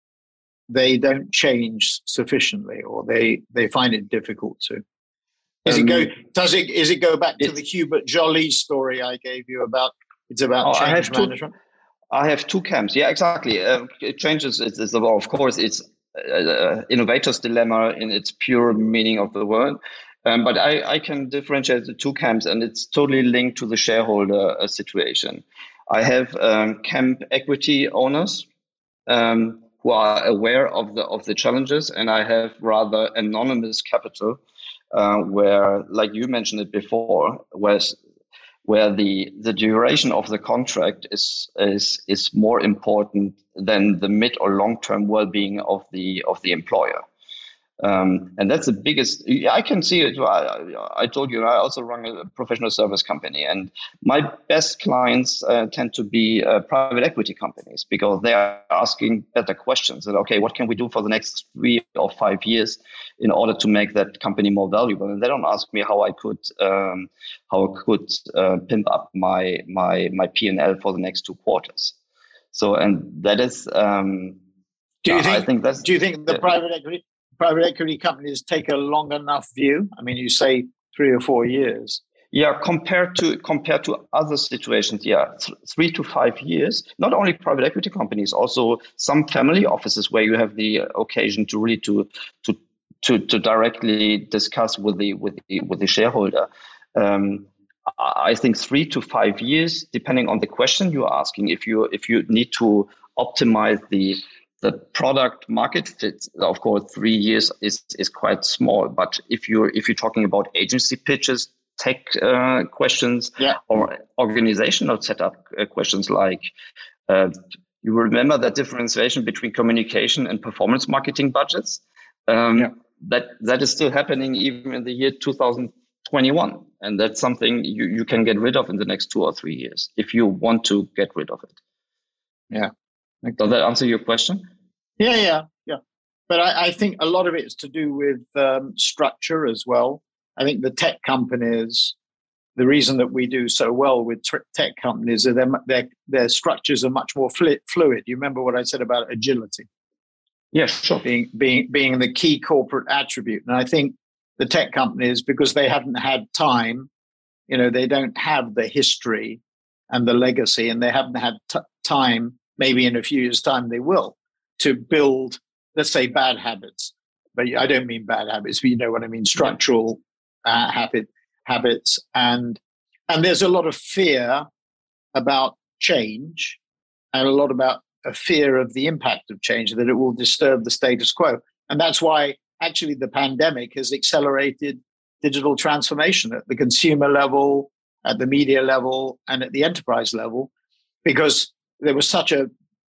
they don't change sufficiently, or they, they find it difficult to? Is um, it go? Does it? Is it go back to the Hubert Joly story I gave you about? It's about oh, change I have management. Two, I have two camps. Yeah, exactly. Uh, it changes. It's, it's of course it's uh, innovator's dilemma in its pure meaning of the word. Um, but I, I can differentiate the two camps, and it's totally linked to the shareholder uh, situation. I have um, camp equity owners. Um, who are aware of the of the challenges, and I have rather anonymous capital, uh, where, like you mentioned it before, where where the the duration of the contract is is is more important than the mid or long term well being of the of the employer. Um, and that's the biggest. I can see it. I, I told you I also run a professional service company, and my best clients uh, tend to be uh, private equity companies because they are asking better questions. And okay, what can we do for the next three or five years in order to make that company more valuable? And they don't ask me how I could um, how I could uh, pimp up my my my P and L for the next two quarters. So, and that is. Um, do you think? I think that's, do you think the yeah. private equity? Private equity companies take a long enough view? I mean, you say three or four years. Yeah, compared to compared to other situations, yeah, th- three to five years. Not only private equity companies, also some family offices where you have the occasion to really to to to, to directly discuss with the with the with the shareholder. Um, I think three to five years, depending on the question you're asking. If you if you need to optimize the The product market fit, of course, three years is, is quite small. But if you're if you're talking about agency pitches, tech uh, questions, yeah. or organizational setup uh, questions, like uh, you remember that differentiation between communication and performance marketing budgets. Um, yeah. That that is still happening even in the year two thousand twenty-one, and that's something you, you can get rid of in the next two or three years if you want to get rid of it. Yeah. Okay. Does that answer your question? Yeah, yeah, yeah. But I, I think a lot of it is to do with um, structure as well. I think the tech companies, the reason that we do so well with t- tech companies is their, their, their structures are much more fl- fluid. You remember what I said about agility? Yeah, sure. Being, being, being the key corporate attribute. And I think the tech companies, because they haven't had time, you know, they don't have the history and the legacy, and they haven't had t- time. Maybe in a few years' time they will, to build, let's say, bad habits. But I don't mean bad habits, but you know what I mean, structural uh, habit, habits. And and there's a lot of fear about change, and a lot about a fear of the impact of change, that it will disturb the status quo. And that's why actually the pandemic has accelerated digital transformation at the consumer level, at the media level, and at the enterprise level, because there was such a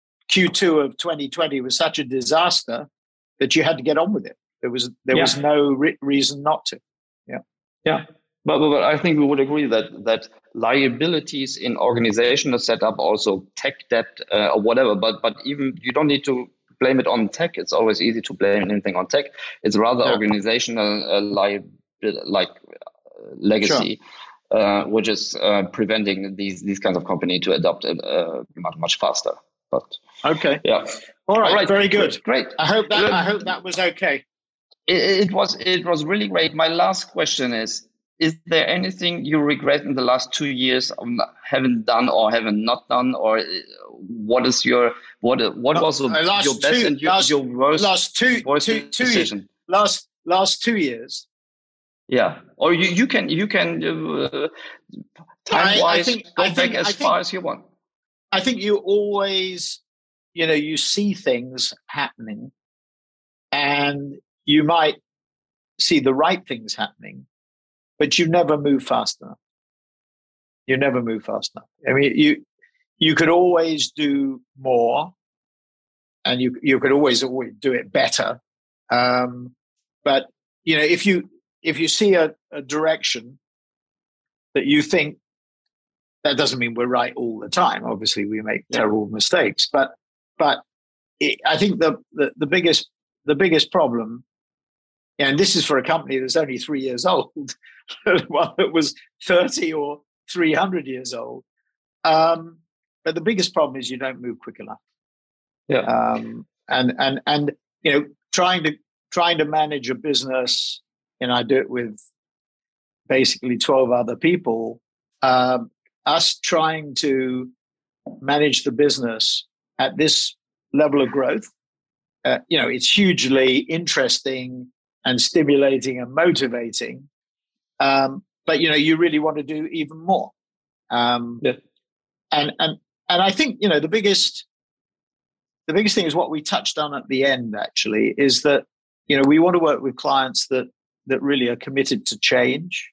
Q two of twenty twenty was such a disaster that you had to get on with it. There was there yeah. was no re- reason not to. Yeah, yeah. But, but but I think we would agree that that liabilities in organizational setup, also tech debt uh, or whatever. But but even you don't need to blame it on tech. It's always easy to blame anything on tech. It's rather yeah. organizational uh, liability, like uh, legacy. Sure. Uh, which is uh, preventing these these kinds of company to adopt it uh, much much faster. But okay, yeah, all right, all right. Very good, great. I hope that good. I hope that was okay. It, it was it was really great. My last question is: is there anything you regret in the last two years of haven't done or haven't not done, or what is your what what was uh, your best two, and your, last, your worst last two worst two, two decision? Years, last last two years. Yeah, or you, you can you can uh, time wise go I back think, as I far think, as you want. I think you always, you know, you see things happening, and you might see the right things happening, but you never move fast enough. You never move fast enough. I mean, you you could always do more, and you you could always always do it better. Um, but you know, if you if you see a, a direction that you think, that doesn't mean we're right all the time. Obviously, we make yeah. terrible mistakes. But but it, I think the, the the biggest the biggest problem, and this is for a company that's only three years old, one that was thirty or three hundred years old. Um, but the biggest problem is you don't move quick enough. Yeah. Um, and and and you know, trying to trying to manage a business, and I do it with basically twelve other people. Um, us trying to manage the business at this level of growth, uh, you know, it's hugely interesting and stimulating and motivating. Um, but you know, you really want to do even more. Um, yeah. And and and I think, you know, the biggest the biggest thing is what we touched on at the end. Actually, is that, you know, we want to work with clients that that really are committed to change,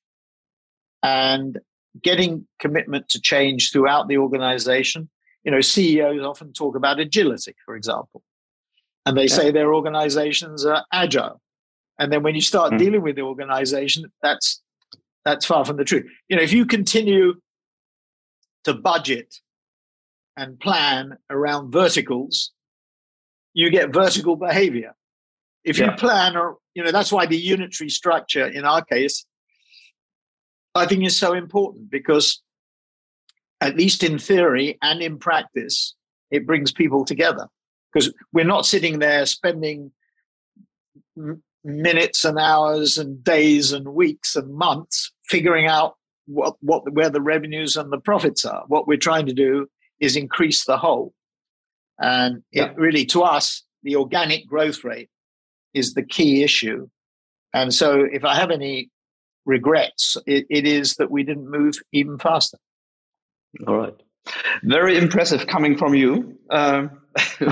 and getting commitment to change throughout the organization. You know, C E Os often talk about agility, for example, and they yeah. say their organizations are agile. And then when you start mm. dealing with the organization, that's that's far from the truth. You know, if you continue to budget and plan around verticals, you get vertical behavior. If yeah. you plan, or you know, that's why the unitary structure in our case, I think, is so important, because at least in theory and in practice, it brings people together, because we're not sitting there spending m- minutes and hours and days and weeks and months figuring out what, what where the revenues and the profits are. What we're trying to do is increase the whole. And yeah. it really, to us, the organic growth rate is the key issue. And so if I have any regrets, it, it is that we didn't move even faster. All right. Very impressive coming from you. Um,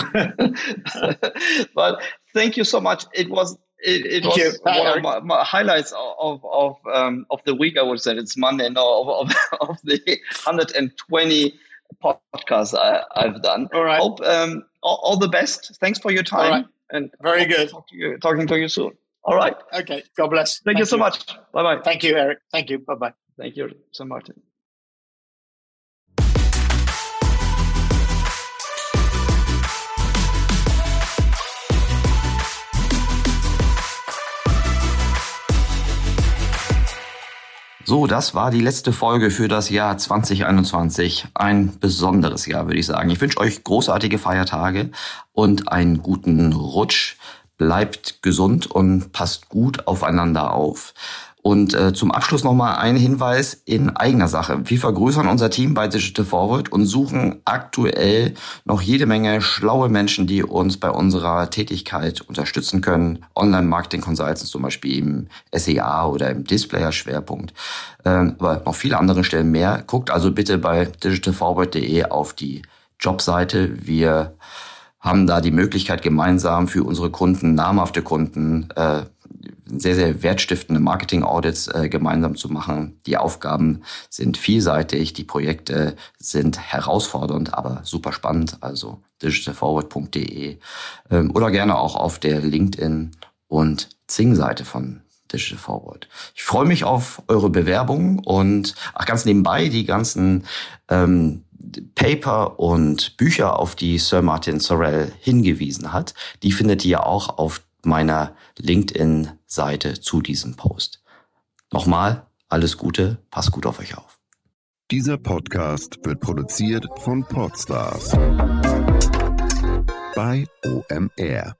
but thank you so much. It was it, it was you, one of my, my highlights of of um, of the week. I would say it's Monday, no, of of, of the one hundred twenty podcasts I, I've done. All right. Hope um, all, all the best. Thanks for your time. All right. And very good. Talk to you, talking to you soon. All right. Okay. God bless. Thank, Thank you so you. much. Bye bye. Thank you, Eric. Thank you. Bye bye. Thank you so much. So, das war die letzte Folge für das Jahr zwanzig einundzwanzig. Ein besonderes Jahr, würde ich sagen. Ich wünsche euch großartige Feiertage und einen guten Rutsch. Bleibt gesund und passt gut aufeinander auf. Und äh, zum Abschluss nochmal ein Hinweis in eigener Sache. Wir vergrößern unser Team bei Digital Forward und suchen aktuell noch jede Menge schlaue Menschen, die uns bei unserer Tätigkeit unterstützen können. Online-Marketing-Consultants zum Beispiel im S E A oder im Displayer-Schwerpunkt. Ähm, aber noch viele andere Stellen mehr. Guckt also bitte bei digital forward punkt de auf die Jobseite. Wir haben da die Möglichkeit, gemeinsam für unsere Kunden, namhafte Kunden, äh, sehr, sehr wertstiftende Marketing-Audits äh, gemeinsam zu machen. Die Aufgaben sind vielseitig, die Projekte sind herausfordernd, aber super spannend. Also digital forward punkt de ähm, oder gerne auch auf der LinkedIn- und Xing-Seite von Digital Forward. Ich freue mich auf eure Bewerbungen und ach, ganz nebenbei die ganzen ähm, Paper und Bücher, auf die Sir Martin Sorrell hingewiesen hat, die findet ihr auch auf meiner LinkedIn-Seite zu diesem Post. Nochmal, alles Gute, passt gut auf euch auf. Dieser Podcast wird produziert von Podstars bei O M R.